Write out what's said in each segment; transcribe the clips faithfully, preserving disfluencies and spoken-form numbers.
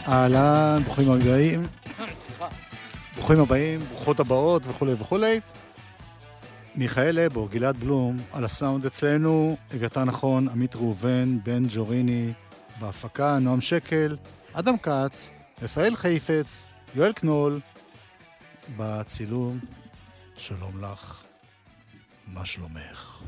אהלן, ברוכים הבאים. ברוכים הבאים, ברוכות הבאות וכו' וכו'. מיכאל לבו, גלעד בלום, על הסאונד אצלנו, אביתר נכון, עמית ראובן, בן ג'וריני, בהפקה, נועם שקל, אדם קץ, רפאל חיפץ, יואל קנול, בצילום, שלום לך, מה שלומך?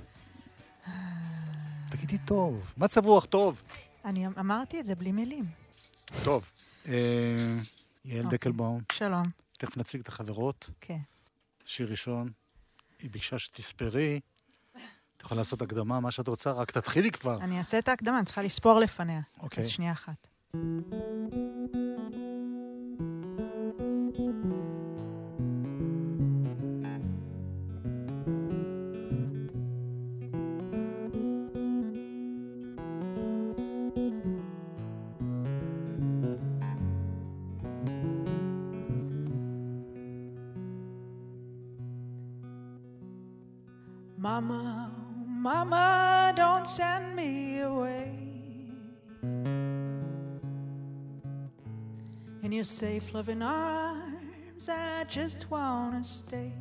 תגידי טוב, מה צבוח טוב? אני אמרתי את זה בלי מילים. טוב, יעל דקלבאום. שלום. תכף נציג את החברות. כן. שיר ראשון, היא ביקשה שתספרי, את יכולה לעשות הקדמה, מה שאת רוצה, רק תתחילי כבר. אני אעשה את ההקדמה, אני צריכה לספור לפניה. אוקיי. אז שנייה אחת. Mama, Mama, don't send me away. In your safe loving arms, I just wanna stay.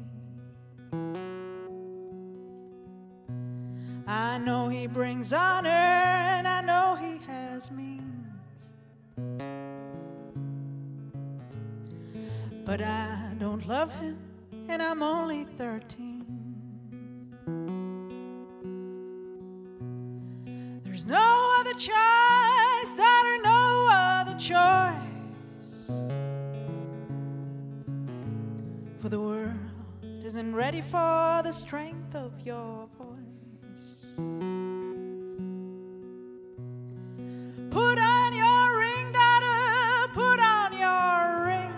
I know he brings honor and I know he has means, but I don't love him and I'm only thirteen. There's no other choice, daughter, no other choice. For the world isn't ready for the strength of your voice. Put on your ring, daughter, put on your ring.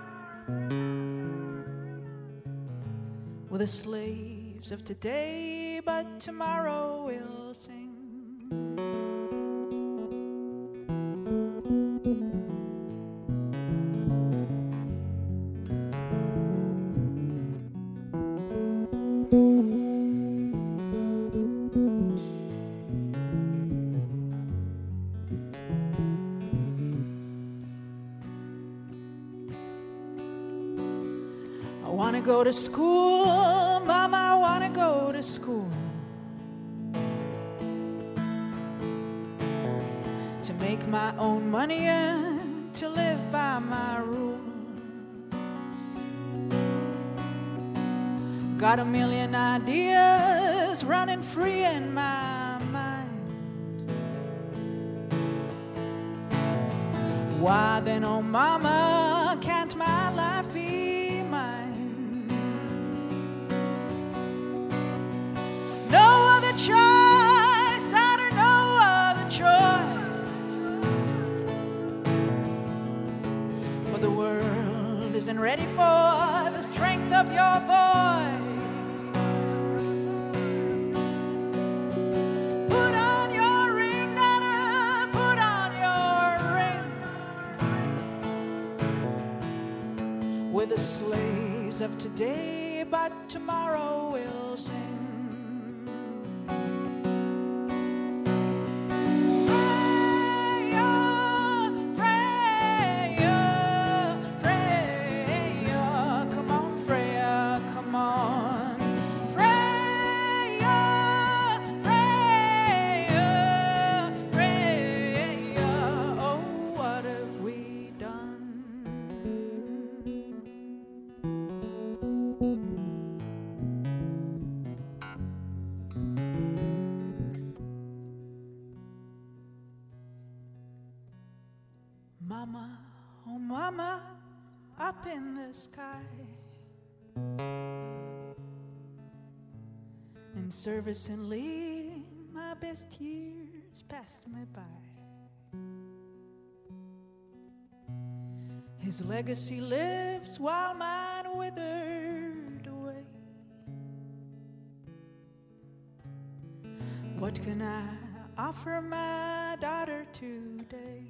We're the slaves of today, but tomorrow we'll sing. I want to go to school, Mama, I want to go to school. To make my own money and to live by my rules. Got a million ideas running free in my mind. Why then, oh Mama, can't my life be mine? No other choice, daughter, no other choice. For the world isn't ready for the strength of your voice. Put on your ring, daughter, put on your ring. We're the slaves of today, but tomorrow we'll sing. Mama, oh Mama, up in the sky, in service and leave, my best years passed me by. His legacy lives while mine withered away. What can I offer my daughter today?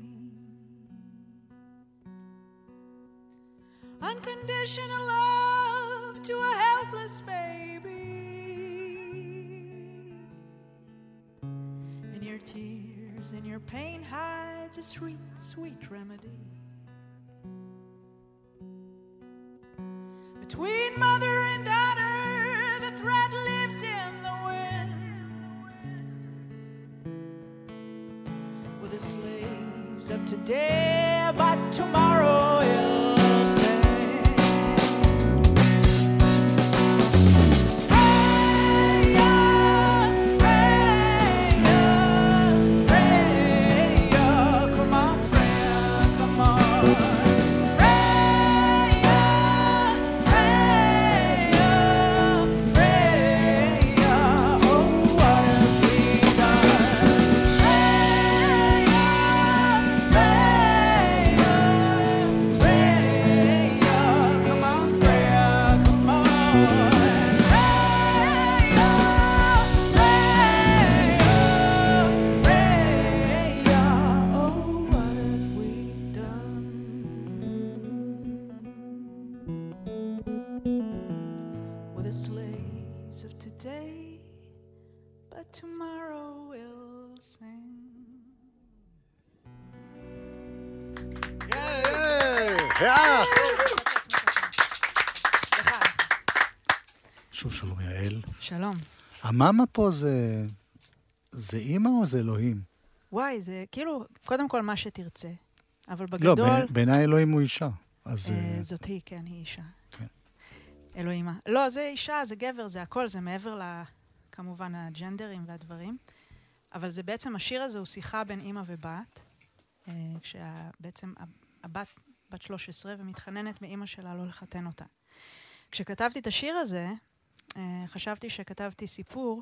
Unconditional love to a helpless baby. In your tears and your pain hides a sweet, sweet remedy. Between mother and daughter, the thread lives in the wind. With the slaves of today, but tomorrow will sing. Freya, Freya, Freya, come on, Freya, come on. שוב שלום יעל. שלום. המאמה פה זה... זה אימא או זה אלוהים? וואי, זה כאילו, קודם כל מה שתרצה. אבל בגדול... לא, בעיניי אלוהים הוא אישה. אז... אה, זאת היא, כן, היא אישה. כן. אלוהימה. לא, זה אישה, זה גבר, זה הכל, זה מעבר ל... כמובן הג'נדרים והדברים. אבל זה בעצם, השיר הזה הוא שיחה בין אימא ובת, אה, כשבעצם הבת בת שלוש עשרה ומתחננת מאימא שלה לא לחתן אותה. כשכתבתי את השיר הזה, אה, חשבתי שכתבתי סיפור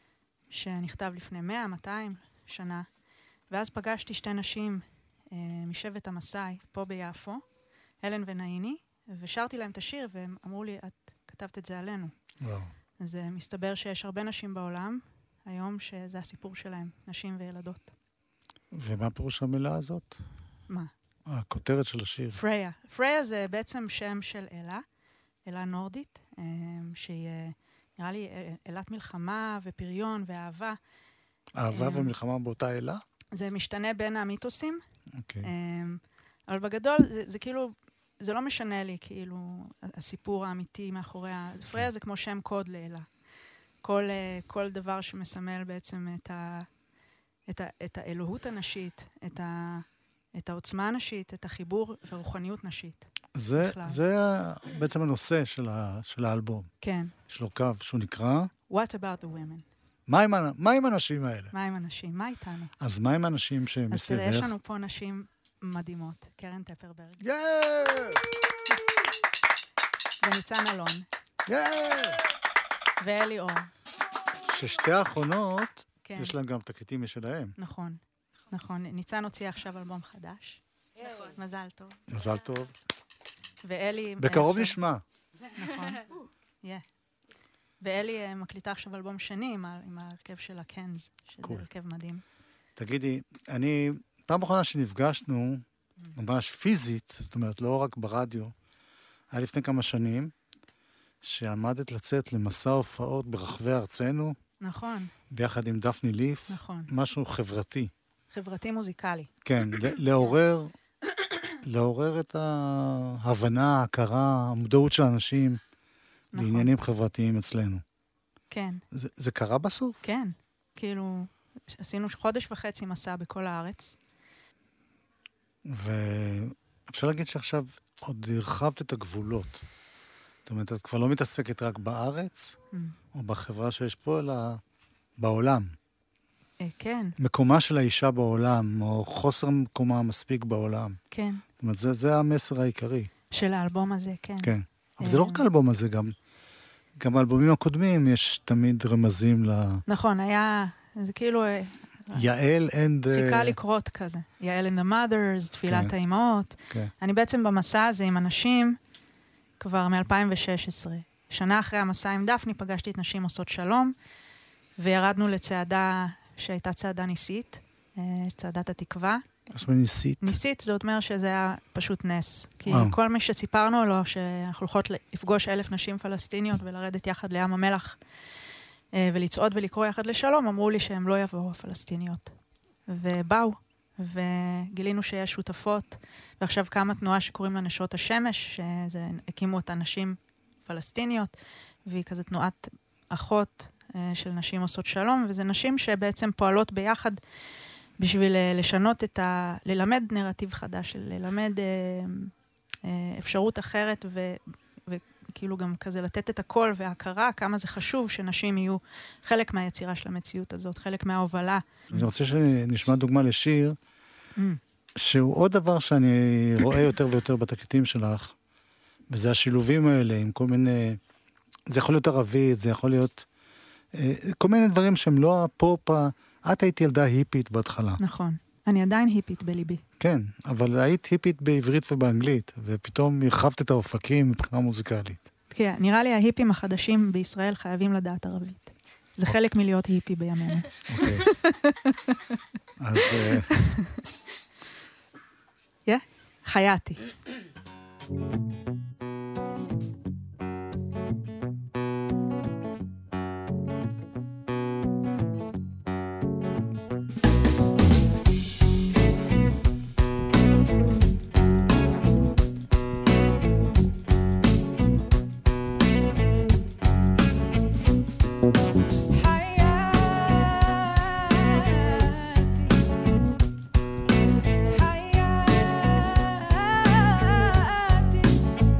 שנכתב לפני מאה מאתיים שנה, ואז פגשתי שתי נשים אה, משבט המסאי, פה ביפו, הלן ונאיני, ושרתי להם את השיר, והם אמרו לי, את כתבת את זה עלינו. וואו. אז אה, מסתבר שיש הרבה נשים בעולם, היום שזה הסיפור שלהם, נשים וילדות. ומה פירוש המילה הזאת? מה? הכותרת של השיר. פריה. פריה זה בעצם שם של אלה, אלה נורדית, אה, שהיא, אה, נראה לי, אלת מלחמה ופריון ואהבה. אהבה ומלחמה באותה אלה? זה משתנה בין המיתוסים. אוקיי. אבל בגדול, זה, זה כאילו, זה לא משנה לי, כאילו, הסיפור האמיתי מאחורי ה... פריה זה כמו שם קוד לאלה. כל, כל דבר שמסמל בעצם את, ה, את, ה, את האלוהות הנשית, את, ה, את העוצמה הנשית, את החיבור והרוחניות נשית. זה, זה בעצם הנושא של, ה, של האלבום. כן. יש לו קו שהוא נקרא... What about the women? מה עם, מה עם הנשים האלה? מה עם הנשים? מה איתנו? אז מה עם הנשים שמסביבך? אז תראה, יש לנו פה נשים מדהימות. קרן טפרברג. יאיי! וניצן אלון. יאיי! ואלי אור. ששתי האחרונות, כן. יש להם גם תקליטים משלהם. נכון, נכון. ניצן הוציא עכשיו אלבום חדש. נכון. מזל טוב. מזל טוב. ואלי... בקרוב נשמע. נכון. יהיה. ואלי מקליטה עכשיו אלבום שני עם, ה- עם ההרכב של הקנז, שזה Cool. הרכב מדהים. תגידי, אני, פעם אחרונה שנפגשנו, ממש פיזית, זאת אומרת, לא רק ברדיו, היה לפני כמה שנים, שעמדת לצאת למסע הופעות ברחבי ארצנו, נכון, ביחד עם דפני ליף, נכון. משהו חברתי. חברתי מוזיקלי. כן, ל- לעורר, לעורר את ההבנה, ההכרה, המודעות של האנשים, נכון. בעניינים חברתיים אצלנו. כן, זה, זה קרה בסוף? כן. כאילו, עשינו חודש וחצי מסע בכל הארץ. ואפשר להגיד שעכשיו עוד הרחבת את הגבולות. זאת אומרת, את כבר לא מתעסקת רק בארץ, Mm. או בחברה שיש פה, אלא בעולם. אה, כן, מקומה של האישה בעולם, או חוסר מקומה מספיק בעולם. כן. זאת אומרת, זה, זה המסר העיקרי. של האלבום הזה, כן. כן. אבל זה לא רק האלבום הזה, גם, גם באלבומים הקודמים יש תמיד רמזים ל... נכון, היה, זה כאילו, יעל and... חיכה לקרות כזה. יעל and the mothers, תפילת כן. האימהות. כן. אני בעצם במסע הזה עם אנשים כבר מ-אלפיים ושש עשרה. שנה אחרי המסע עם דפני פגשתי את נשים עושות שלום, וירדנו לצעדה שהייתה צעדה ניסית, אה, צעדת התקווה. זאת אומרת, ניסית. ניסית, זאת אומרת שזה היה פשוט נס. כי וואו. כל מי שסיפרנו לו שאנחנו הולכות לפגוש אלף נשים פלסטיניות ולרדת יחד לים המלח אה, ולצעוד ולקרוא יחד לשלום, אמרו לי שהם לא יבואו הפלסטיניות. ובאו, וגילינו שיש שותפות, ועכשיו קמה תנועה שקוראים לה נשות השמש, שזה הקימו אותה נשים פלסטיניות, והיא כזה תנועת אחות של נשים עושות שלום, וזה נשים שבעצם פועלות ביחד בשביל לשנות את ה... ללמד נרטיב חדש, ללמד אפשרות אחרת, ו... וכאילו גם כזה לתת את הכל וההכרה, כמה זה חשוב שנשים יהיו חלק מהיצירה של המציאות הזאת, חלק מההובלה. אני רוצה שנשמע דוגמה לשיר, שהוא עוד דבר שאני רואה יותר ויותר בתקליטים שלך, וזה השילובים האלה עם כל מיני... זה יכול להיות ערבית, זה יכול להיות... כל מיני דברים שהם לא הפופ, את היית ילדה היפית בהתחלה. נכון. אני עדיין היפית בליבי. כן, אבל היית היפית בעברית ובאנגלית, ופתאום הרחבת את האופקים מבחינה מוזיקלית. כן, נראה לי ההיפים החדשים בישראל חייבים לדעת ערבית. זה חלק מלהיות היפי בימינו. אוקיי. אז... יא, חייתי. حياتي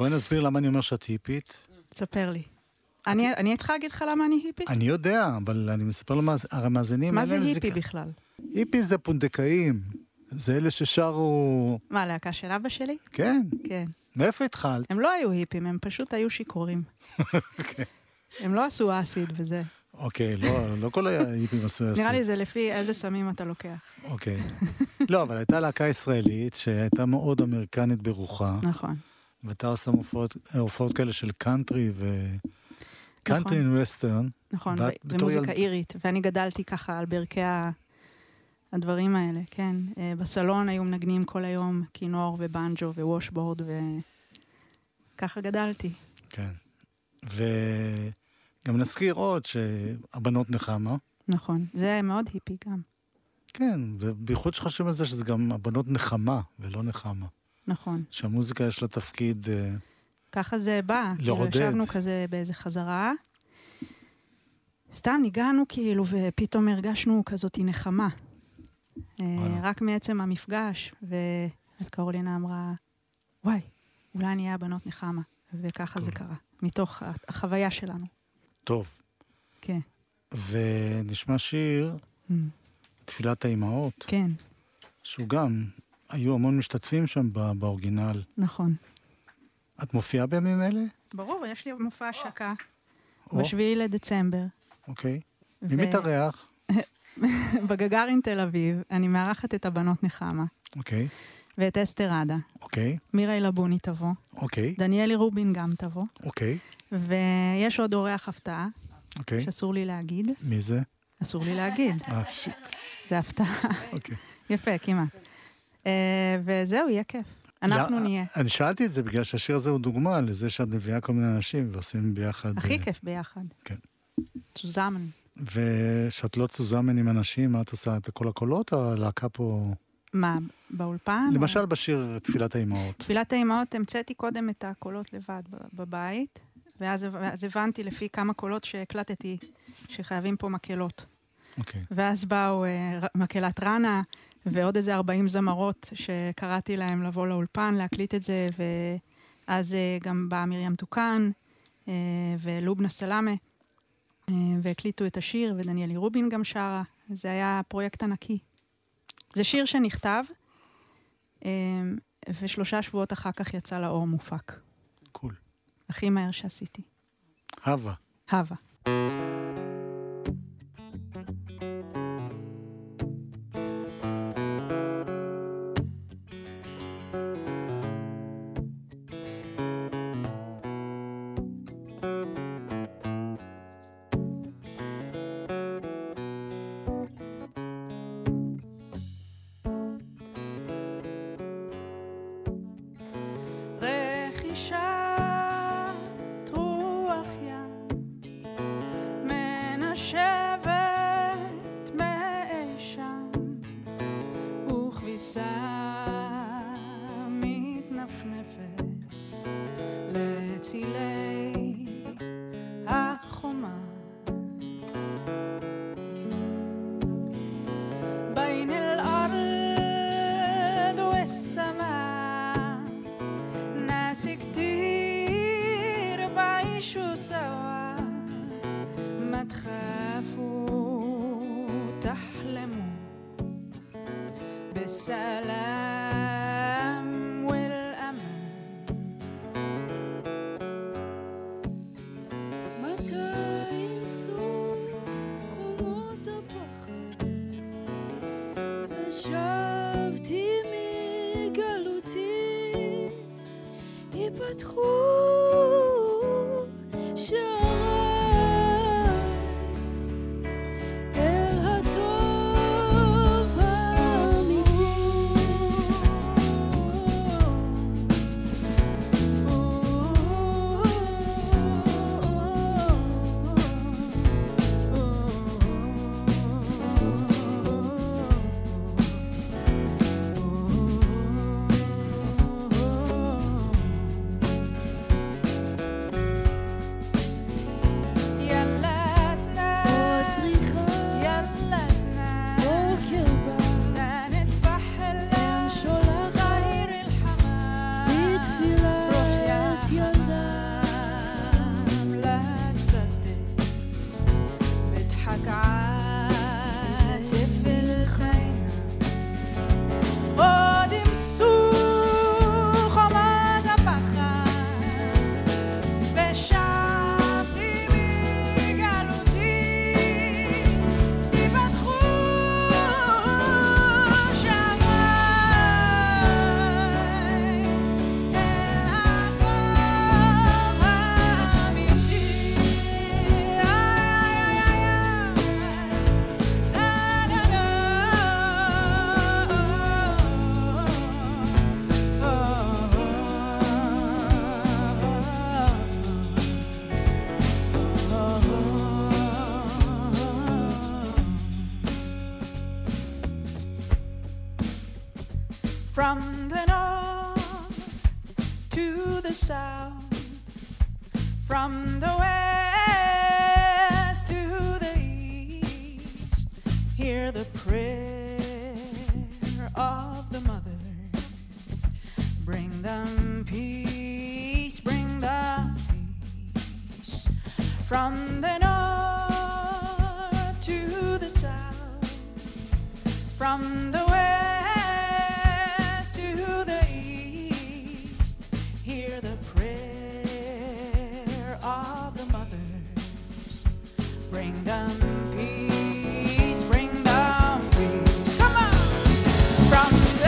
בואי נסביר למה אני אומר שאת היפית. תספר לי. אני, אני צריכה להגיד לך למה אני היפית? אני יודע, אבל אני מספר למאזינים. מה זה היפי בכלל? היפי זה פונדקאים. זה אלה ששרו... מה, להקה של אבא שלי? כן. כן. מאיפה התחלת? הם לא היו היפים, הם פשוט היו שיכורים. הם לא עשו אסיד וזה. אוקיי, לא, לא כל ההיפים עשו אסיד. נראה לי זה לפי איזה סמים אתה לוקח. אוקיי. לא, אבל הייתה להקה ישראלית שהייתה מאוד אמריקנית ברוחה. נכון. ואתה עושה הופעות כאלה של קאנטרי ו... קאנטרי וווסטרן. נכון, ומוזיקה אירית. ואני גדלתי ככה על ברכי הדברים האלה, כן. בסלון היו מנגנים כל היום כינור ובנג'ו וושבורד, וככה גדלתי. כן. וגם נזכיר עוד שהבנות נחמה. נכון, זה מאוד היפי גם. כן, ובייחוד שחושבים על זה שזה גם הבנות נחמה ולא נחמה. נכון. שהמוזיקה יש לה תפקיד... ככה זה בא. לעודד. כאילו ישבנו כזה באיזה חזרה. סתם ניגענו כאילו, ופתאום הרגשנו כזאת נחמה. רק מעצם המפגש. ואז קרולינה אמרה, וואי, אולי נהיה הבנות נחמה. וככה זה קרה. מתוך החוויה שלנו. טוב. כן. ונשמע שיר, תפילת האימהות. כן. שהוא גם... היו המון משתתפים שם באורגינל. נכון. את מופיעה בימים אלה? ברור, יש לי מופע השקה. בשביעי לדצמבר. אוקיי. מי מתארח? בגגארין תל אביב, אני מארחת את הבנות נחמה. אוקיי. ואת אסתר עדה. אוקיי. מירה אלבוני תבוא. אוקיי. דניאלי רובין גם תבוא. אוקיי. ויש עוד אורח הפתעה. אוקיי. שאסור לי להגיד. מי זה? אסור לי להגיד. אה, שיט. זה הפתעה. אוקיי. יפה, כמעט. וזהו, יהיה כיף. אנחנו נהיה. אני שאלתי את זה בגלל שהשיר הזה הוא דוגמה לזה שאת מביאה כל מיני אנשים ועושים ביחד... הכי כיף ביחד. כן. צוזמן. ושאת לא צוזמן עם אנשים, מה את עושה? את כל הקולות או הלהקה פה... מה, באולפן? למשל בשיר תפילת האימהות. תפילת האימהות, המצאתי קודם את הקולות לבד בבית, ואז הבנתי לפי כמה קולות שהקלטתי שחייבים פה מקהלות. אוקיי. ואז באו מקהלת רנה, ועוד איזה ארבעים זמרות שקראתי להם לבוא לאולפן, להקליט את זה, ואז גם באה מרים תוקן, ולובנה סלאמה, והקליטו את השיר, ודניאלי רובין גם שרה. זה היה פרויקט ענקי. זה שיר שנכתב, ושלושה שבועות אחר כך יצא לאור מופק. קול. הכי מהר שעשיתי. הווה. הווה. From the north to the south, from the west to the east, hear the prayer of the mothers. Bring them peace, bring them peace. From the north to the south, from the west to the east, hear the prayer of the mothers. Bring them peace, bring them peace. Come on! From the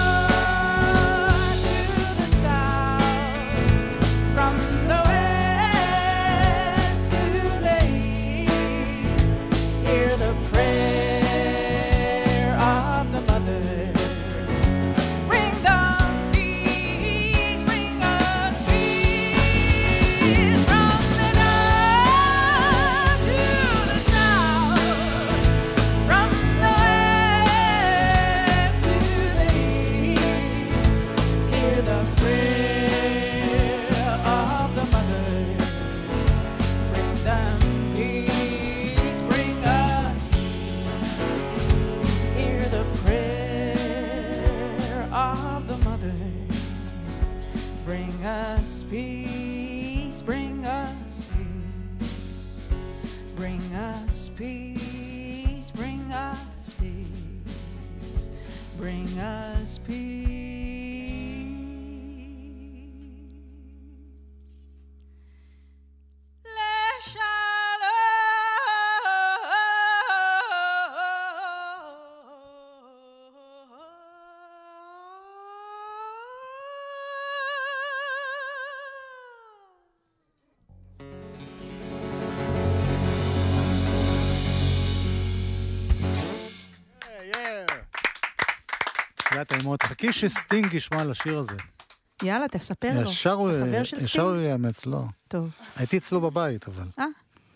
north to the south, from the west to the east, hear the prayer of the mothers. Bring them peace, bring us peace. From the north to the south, from the west to the east, hear the prayer of the mothers. Bring them peace, bring us peace. Hear the prayer of the mothers. Bring us peace, bring us peace. Bring us peace, bring us peace. Bring us peace. Le תחילת האימות. חכי שסטינג ישמע על השיר הזה. יאללה, תספר לו. ישר הוא- החבר של ישר סטינג? הוא יאמץ, לא. טוב, הייתי אצלו בבית, אבל. אה,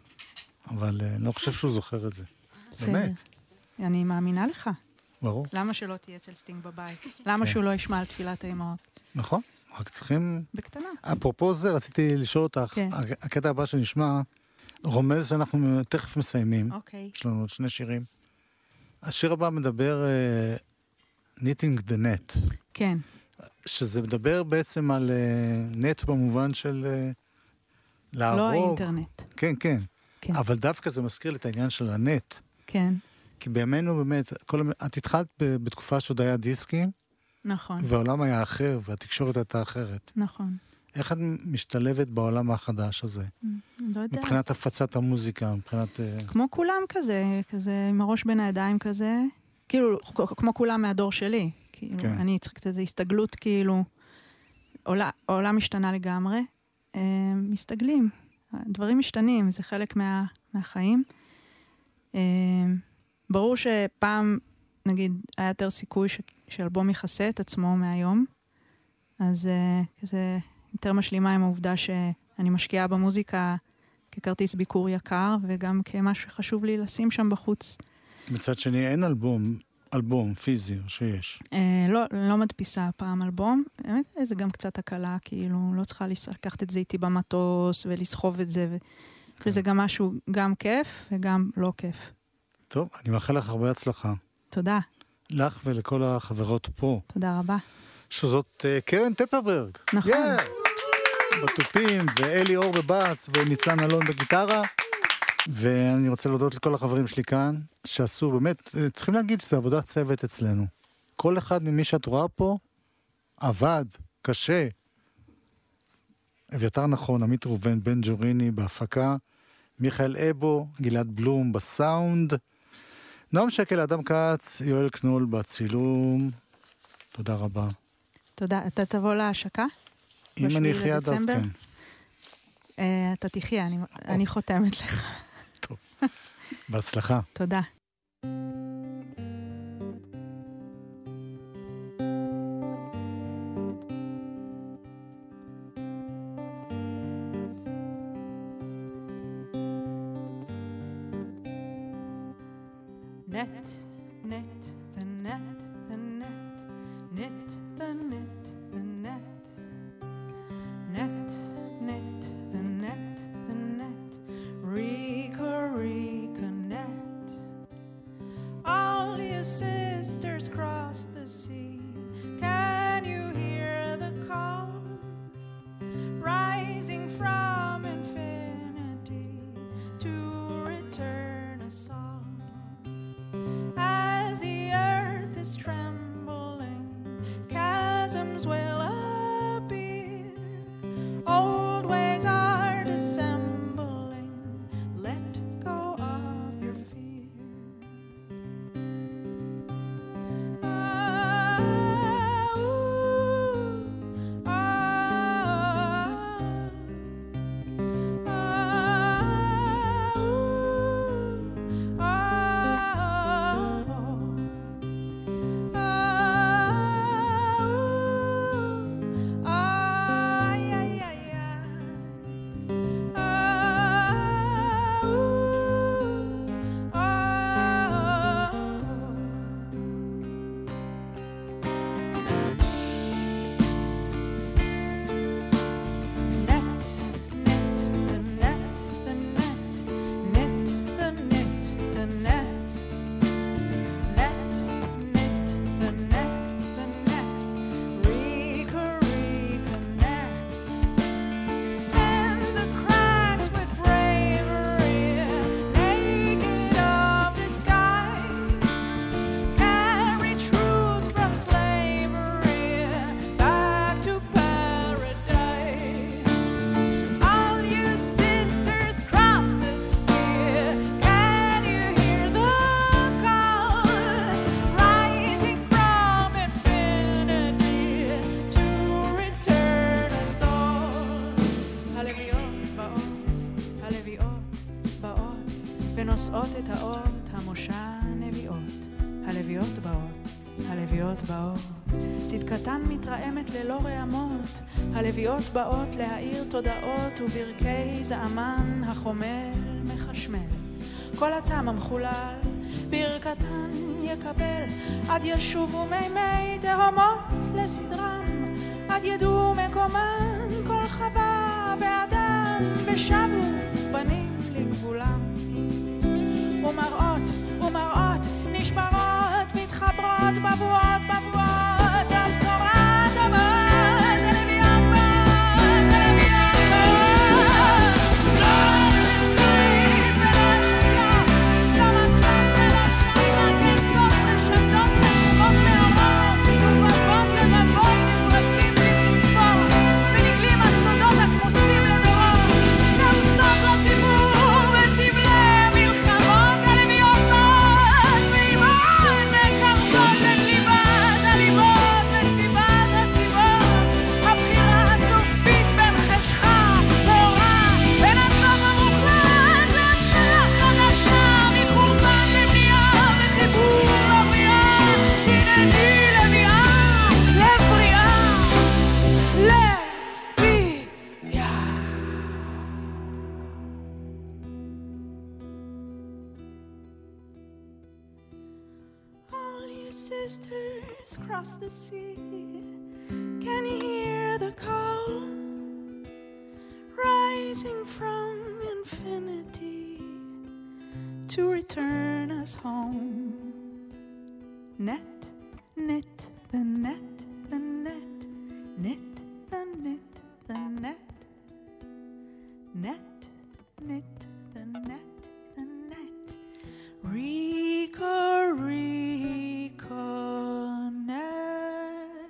אבל אה, אני לא חושב שהוא זוכר את זה. בסדר. באמת. אני מאמינה לך. ברור. למה שלא תהיה אצל סטינג בבית? למה שהוא לא ישמע על תפילת האימהות? נכון. רק צריכים... בקטנה. אפרופו זה, רציתי לשאול אותך, כן. הקטע הבא שנשמע, רומז שאנחנו תכף מסיימים. אוקיי. יש לנו עוד שני שירים. השיר הבא מדבר uh, Knitting the Net, כן, שזה מדבר בעצם על uh, נט במובן של uh, להרוג. לא האינטרנט. כן, כן, כן. אבל דווקא זה מזכיר לי את העניין של הנט. כן, כי בימינו באמת, כל, המ- את התחלת ב- בתקופה שעוד היה דיסקים, נכון, והעולם היה אחר, והתקשורת הייתה אחרת. נכון. איך את משתלבת בעולם החדש הזה? לא יודע. מבחינת הפצת המוזיקה, מבחינת... אה, כמו כולם כזה, כזה עם הראש בין הידיים כזה, כאילו, כ- כמו כולם מהדור שלי. כאילו, כן. אני צריכה קצת איזו הסתגלות, כאילו, עולה- העולם משתנה לגמרי. אה, מסתגלים, דברים משתנים, זה חלק מה, מהחיים. אה, ברור שפעם, נגיד, היה יותר סיכוי ש, שאלבום יכסה את עצמו מהיום, אז אה, כזה יותר משלימה עם העובדה שאני משקיעה במוזיקה ככרטיס ביקור יקר, וגם כמשהו שחשוב לי לשים שם בחוץ. מצד שני, אין אלבום, אלבום פיזי שיש. אה, לא, לא מדפיסה פעם אלבום. באמת, זה גם קצת הקלה, כאילו, לא צריכה לס- לקחת את זה איתי במטוס ולסחוב את זה, ו... וזה גם משהו, גם כיף וגם לא כיף. טוב, אני מאחל לך הרבה הצלחה. תודה, לך ולכל החברות פה, תודה רבה. שזאת uh, קרן טפרברג. נכון. Yeah. בטופים, ואלי אור בבאס, וניצן אלון בגיטרה. ואני רוצה להודות לכל החברים שלי כאן, שעשו באמת, אה, צריכים להגיד שזה עבודת צוות אצלנו. כל אחד ממי שאת רואה פה, עבד, קשה. אביתר נכון, עמית ראובן, בן ג'וריני בהפקה, מיכאל אבו, גלעד בלום בסאונד, נועם שקל, אדם כץ, יואל קנול בצילום. תודה רבה. תודה. אתה תבוא להשקה? אם אני בשביעי אחיה עד אז, לדצמבר? כן. אה, אתה תחיה, אני, אני חותמת לך. טוב. בהצלחה. תודה. Net, net, the net, the net, Knit the knit, the net. Net, knit the net, the net. Rika, Rika, net. All your sisters cross the sea. Can you hear the call? Rising from infinity to return a song. As the earth is trembling, chasms will appear. Old ways are dissembling. Let go of your fear. Ah, ooh, ah, ah, ooh, ah, ah, ah, yeah, yeah, yeah. Ah, ooh, ah. Net, knit the net, the net. Knit the knit, the net. Net, knit the net, the net. Rika, Rika, net. And the cracks with bravery, naked of disguise, carry truth from slavery back to paradise. All you sisters cross the sea. Can you hear the call? Rising from infinity to return us all. הלוויות באות, הלוויות באות, ונושאות את האות המשה נביאות. הלוויות באות, הלוויות באות, צדקתן מתרעמת ללא רעמות. הלוויות באות להאיר תודעות וברכי זעמן החומל מחשמל. כל הטעם המחולל ברכתן יקבל, עד ישובו מימי תהומות לסדרם, עד ידעו מקומן כל חווה ואדם, ושבו בנים לגבולם. ומראות ומראות נשברות מתחברות בבואות בבואות, הבשורת הבאות, הלוויות באות, הלוויות באות. לא נתקעים ולא שתלות, לא מקלות ולא שחת, אין סוף רשתות רקומות מאורות, ובבות לבבות נפרסים בקליפות, ונגלים הסודות הכמוסים לדורות. זהו סוף לסיפור וסבלי מלחמות, הלוויות באות, ואימהות מקרבות את ליבת הליבות וסיבת הסיבות. הבחירה הסופית בין חשכה לאורה, בין הסוף המוחלט להתחלה חדשה, מחורבן לבנייה וחיבור לבריאה. הנני לביאה, לב בריאה, לב בריאה. All you sisters cross the sea. Can you hear the call? Rising from infinity to return us home. Net, knit the net, the net. Knit the knit, the net. Net, knit the net, the net. Rika, Rika, net.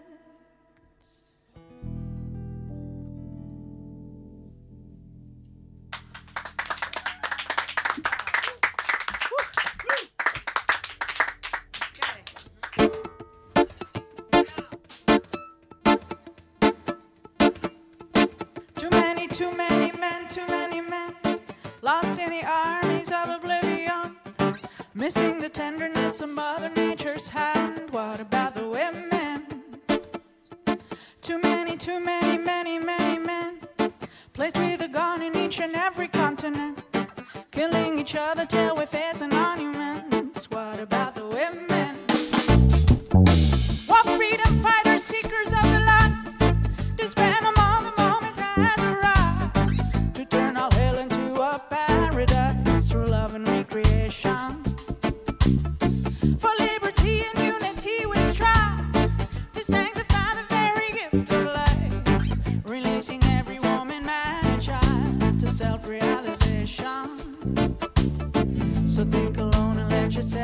Too many, too many men, too many men, lost in the armies of oblivion, missing the tenderness of Mother Nature's hand. What about the women? Too many, too many, many, many men, placed with a gun in each and every continent, killing each other till we face an monuments. What about the women? What freedom fight?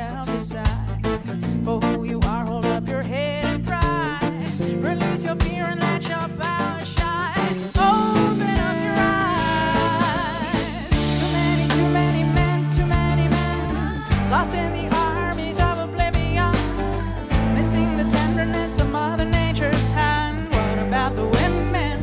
yourself decide for who you are. Hold up your head and pride. Release your fear and let your power shine. Open up your eyes. Too many, too many men, too many men lost in the armies of oblivion, missing the tenderness of Mother Nature's hand. What about the women?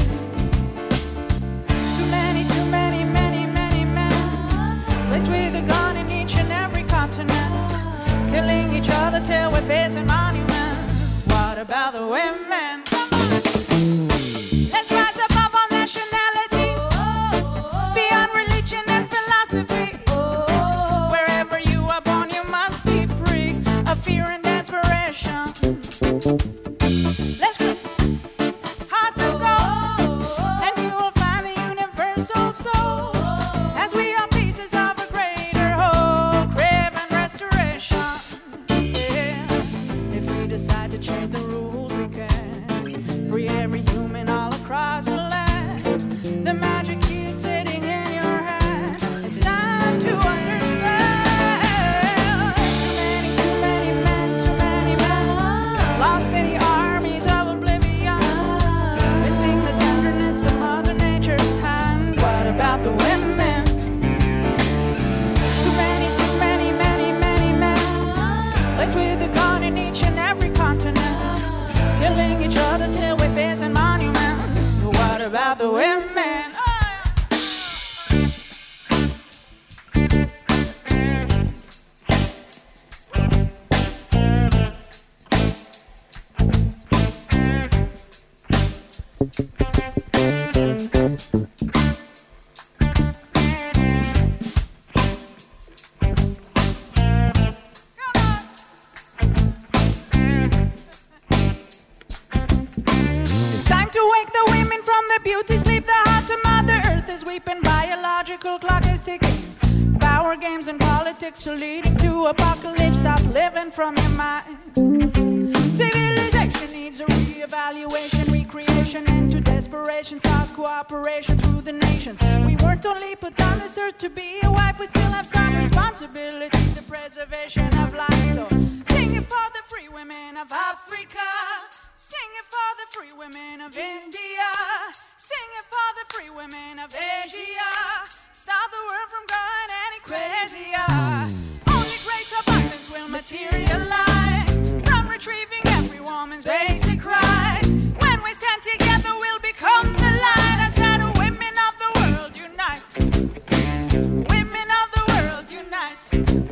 Too many, too many, many, many men placed with a gun in each and every continent, killing each other till we're facing monuments. What about the women? Come on. Let's rise above all nationalities, beyond religion and philosophy. Wherever you are born, you must be free of fear and desperation. Let's go hard to go, and you will find the universal soul, as we are pieces of a greater whole, craving restoration. Yeah. If we decide to change the rules, we can free every human all across the land. The magic key is sitting in your hand. It's time to understand. Too many, too many men, too many men lost in the armies of oblivion, missing the tenderness of Mother Nature's hand. What about the women? Too many, too many, many, many men placed with a gun in each and every continent, killing each other till we're facing monuments. What about the women? Oh, it's time to wake the women from their beauty sleep. The heart to Mother Earth is weeping. Biological clock is ticking. Power games and politics are leading to apocalypse. Stop living from your mind. Civilization needs a re-evaluation, recreation, and to desperation starts cooperation through the nations. We weren't only put on this earth to be a wife, we still have some responsibility, the preservation of life. So sing it for the free women of Africa, sing it for the free women of India, sing it for the free women of Asia. Stop the world from going any crazier. Only great abundance will materialize from retrieving every woman's basic rights. When we stand together, we'll become the light. I said, women of the world, unite. Women of the world, unite.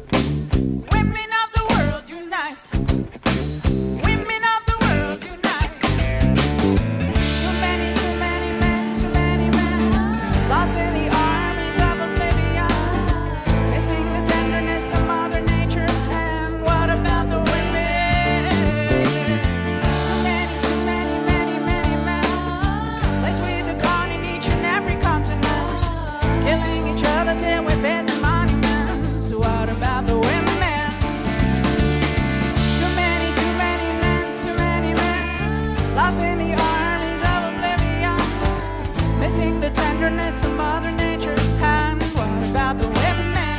Women of the world, unite. Women of the world, unite. Too many, too many men, too many men lost in the armies of oblivion, missing the tenderness of Mother Nature's hand. What about the women? Too many, too many, many, many men placed with a gun in each and every continent, killing each other till we're facing monuments. What about the women? Too many, too many men, too many men lost in the armies of oblivion, missing the tenderness of Mother Nature's hand. What about the women?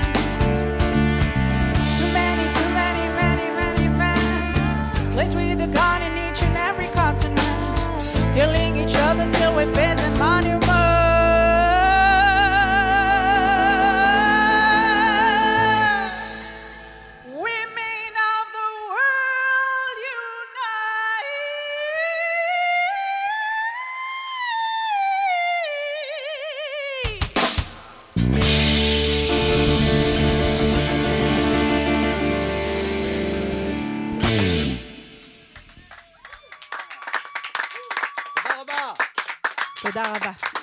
Too many, too many, many, many men placed with a gun in each and every continent, killing each other till we're facing monuments. Women of the world, unite! תודה רבה. תודה רבה.